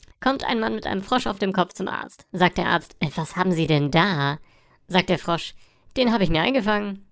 Kommt ein Mann mit einem Frosch auf dem Kopf zum Arzt. Sagt der Arzt, was haben Sie denn da? Sagt der Frosch, den habe ich mir eingefangen.